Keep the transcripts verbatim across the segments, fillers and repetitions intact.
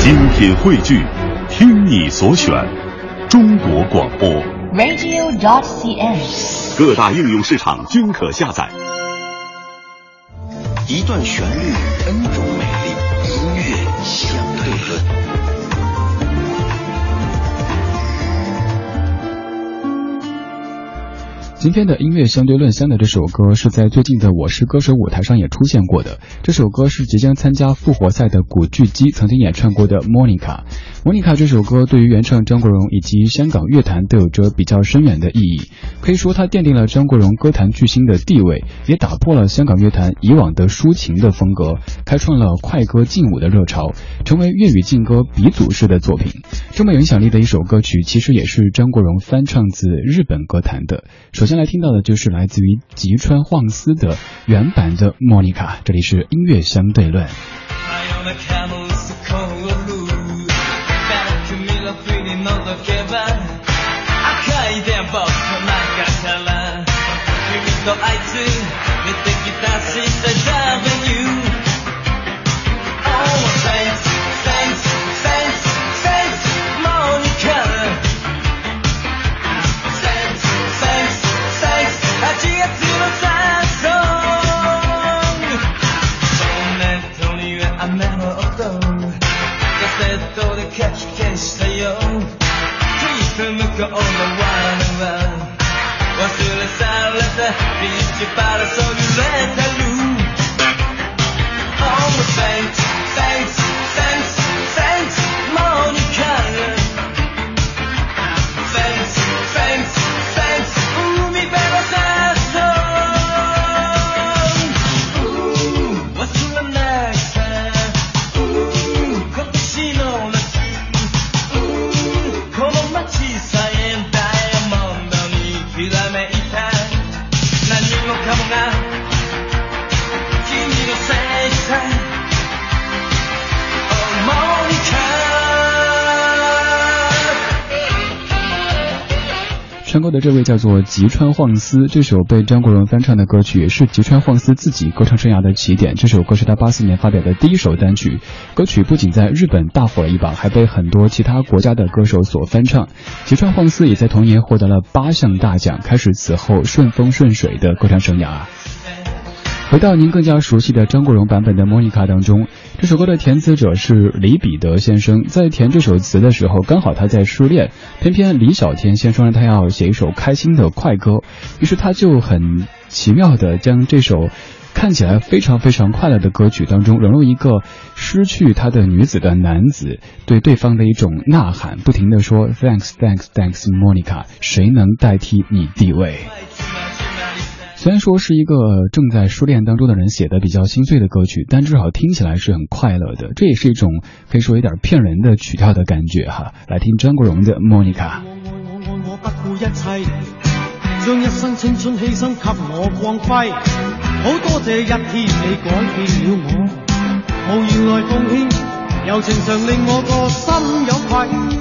精品汇聚，听你所选，中国广播 radio dot c n， 各大应用市场均可下载。 一段旋律，N种美丽，音乐相对论。 今天的音乐相对论香的这首歌是在最近的我是歌手舞台上也出现过的。这首歌是即将参加复活赛的古巨基曾经演唱过的 Monica。 Monica 这首歌对于原唱张国荣以及香港乐坛都有着比较深远的意义，可以说它奠定了张国荣歌坛巨星的地位，也打破了香港乐坛以往的抒情的风格，开创了快歌劲舞的热潮，成为粤语劲歌鼻祖式的作品。这么有影响力的一首歌曲，其实也是张国荣翻唱自日本歌坛的。首先来听到的就是来自于吉川晃司的原版的 Monica。 这里是音乐相对论。唱歌的这位叫做吉川晃司，这首被张国荣翻唱的歌曲也是吉川晃司自己歌唱生涯的起点。这首歌是他八四年发表的第一首单曲，歌曲不仅在日本大火了一把，还被很多其他国家的歌手所翻唱。吉川晃司也在同年获得了八项大奖，开始此后顺风顺水的歌唱生涯。回到您更加熟悉的张国荣版本的 Monica 当中，这首歌的填词者是李彼得先生，在填这首词的时候刚好他在失恋，偏偏李小天先生让他要写一首开心的快歌，于是他就很奇妙的将这首看起来非常非常快乐的歌曲当中融入一个失去他的女子的男子对对方的一种呐喊，不停的说 Thanks Thanks Thanks Monica， 谁能代替你地位。虽然说是一个正在失恋当中的人写的比较心碎的歌曲，但至少听起来是很快乐的，这也是一种可以说有点骗人的曲调的感觉哈。来听张国荣的 Monica。 我不顧一切，將一生青春犧牲給我光輝，好多謝一天你改變了我，無言來奉獻，柔情常令我個心有愧。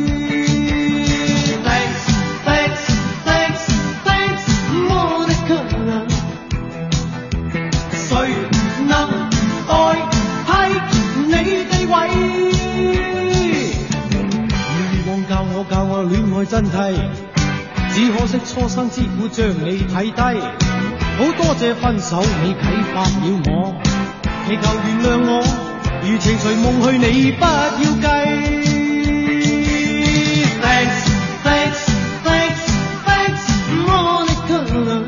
教我戀愛真諦，只可惜初生之犢將你睇低，好多謝分手你啟發了我，祈求原諒我，如情隨夢去你不要計。 Thanks Thanks Thanks Thanks Monica，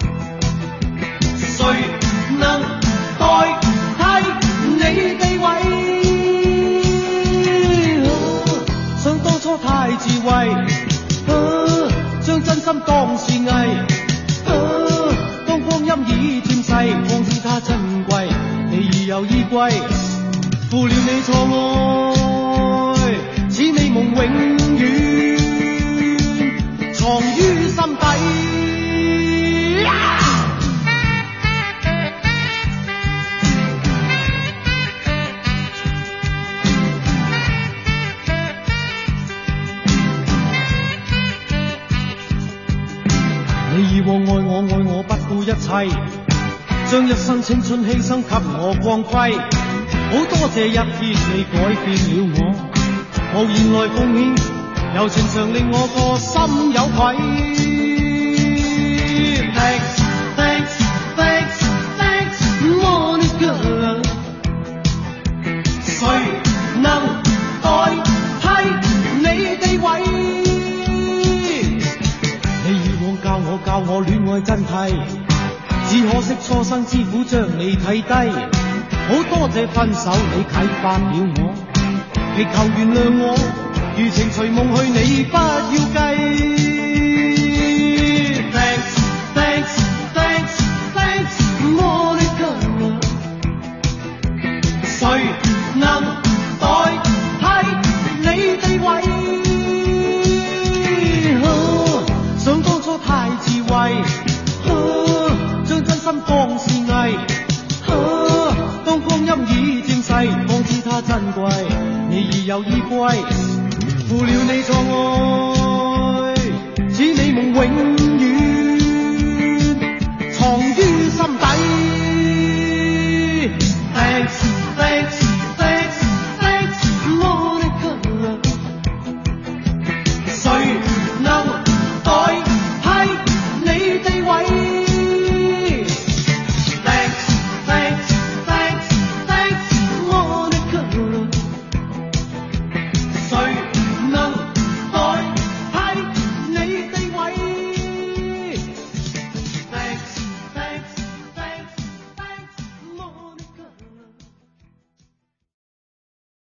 誰能代替你地位？想當初太智慧，啊，將真心當是藝，啊，當光陰已漸逝，方知它珍貴，你已有依歸，負了你錯愛，似美夢永遠藏於心底。你以往愛我愛我不顧一切，將一生青春犧牲給我光輝， 好多謝一天你改變了我，無言來奉獻，柔情常令我個心有愧。Thanks, thanks, thanks, thanks, Monica。誰能代替你地位？你以往教我教我戀愛真諦，只可惜初生之虎將你睇低。好多謝分手你啟發了我，祈求原諒我，餘情隨夢去你不要計。Thanks, thanks, thanks, thanks, Monica。誰能代替你地位？啊，想當初太智慧，啊，將真心當是藝。當光陰已漸逝，方知它珍貴。你已有依歸，負了你錯愛，似你夢永遠藏於心底。Thanks, thanks, thanks, thanks, Monica。誰能代替你地位？